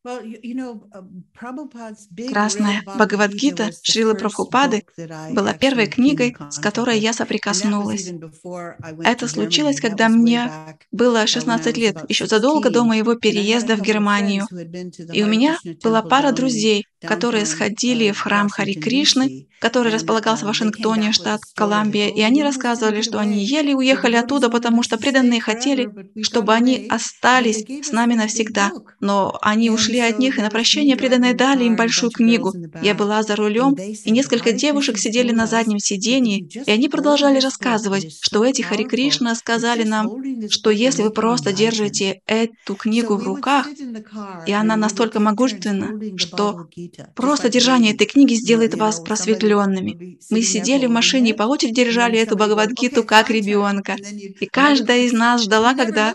Красная Бхагавад-гита Шрилы Прабхупады была первой книгой, с которой я соприкоснулась. Это случилось, когда мне было 16 лет, еще задолго до моего переезда в Германию. И у меня была пара друзей, которые сходили в храм Хари Кришны, который располагался в Вашингтоне, штат Колумбия, и они рассказывали, что они еле уехали оттуда, потому что преданные хотели, чтобы они остались с нами навсегда. Но они ушли от них, и на прощание преданные дали им большую книгу. Я была за рулем, и несколько девушек сидели на заднем сидении, и они продолжали рассказывать, что эти Хари Кришна сказали нам, что если вы просто держите эту книгу в руках, и она настолько могущественна, что просто держание этой книги сделает вас просветленными. Мы сидели в машине и по очереди держали эту Бхагавад-гиту как ребенка. И каждая из нас ждала, когда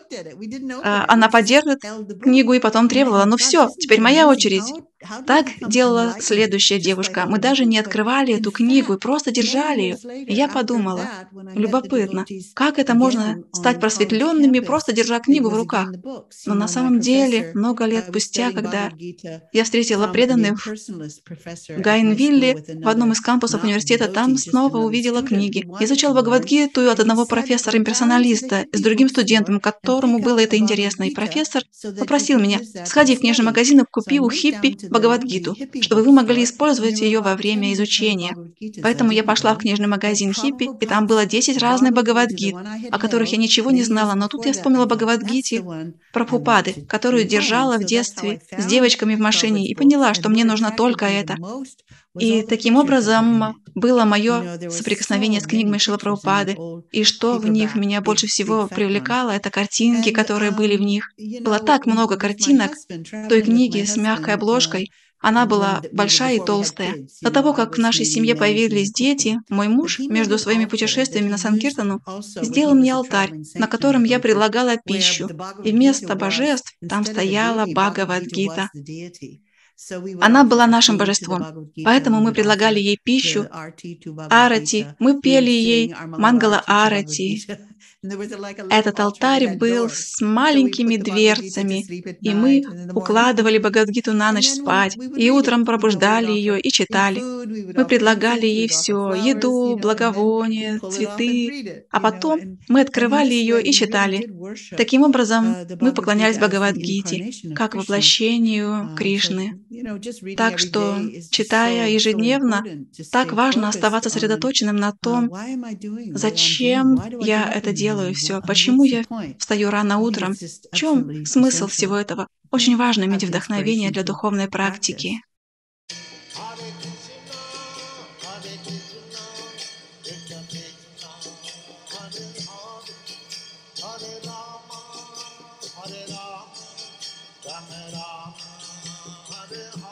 она подержит книгу и потом требовала: «Ну все, теперь моя очередь». Так делала следующая девушка. Мы даже не открывали эту книгу и просто держали ее. И я подумала, любопытно, как это можно стать просветленными, просто держа книгу в руках? Но на самом деле, много лет спустя, когда я встретила преданных в Гайнвилле, в одном из кампусов университета, там снова увидела книги. Я изучала Бхагавад-гиту от одного профессора-имперсоналиста с другим студентом, которому было это интересно. И профессор попросил меня: «Сходи в книжный магазин и купи у хиппи Бхагавад-гиту, чтобы вы могли использовать ее во время изучения». Поэтому я пошла в книжный магазин хиппи, и там было 10 разных Бхагавад-гит, о которых я ничего не знала. Но тут я вспомнила Бхагавад-гите Прабхупады, которую держала в детстве с девочками в машине, и поняла, что мне нужно только это. И таким образом было мое соприкосновение с книгами Шрилы Прабхупады. И что в них меня больше всего привлекало, это картинки, которые были в них. Было так много картинок той книги с мягкой обложкой. Она была большая и толстая. До того, как в нашей семье появились дети, мой муж между своими путешествиями на Санкиртану сделал мне алтарь, на котором я предлагала пищу. И вместо божеств там стояла Бхагавад-гита. Она была нашим божеством, поэтому мы предлагали ей пищу, арати, мы пели ей мангала арати. Этот алтарь был с маленькими дверцами, и мы укладывали Бхагавад-гиту на ночь спать, и утром пробуждали ее и читали. Мы предлагали ей все: еду, благовония, цветы, а потом мы открывали ее и читали. Таким образом, мы поклонялись Бхагавад-гите, как воплощению Кришны. Так что, читая ежедневно, так важно оставаться сосредоточенным на том, зачем я это делаю все, почему я встаю рано утром, в чем смысл всего этого. Очень важно иметь вдохновение для духовной практики. Hare Rama, Rama Rama, Hare Hare.